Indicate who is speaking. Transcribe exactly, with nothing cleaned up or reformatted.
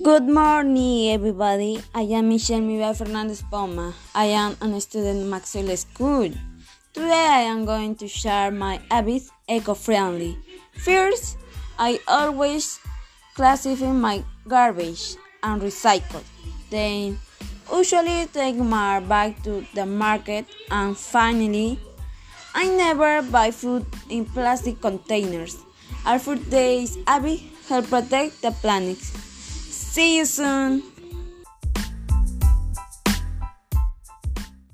Speaker 1: Good morning, everybody. I am Michelle Miguel Fernandez Poma. I am a student in Maxwell School. Today I am going to share my habits eco-friendly. First, I always classify my garbage and recycle. Then, usually take my bag to the market. And finally, I never buy food in plastic containers. Our food days habits help protect the planet. See you soon.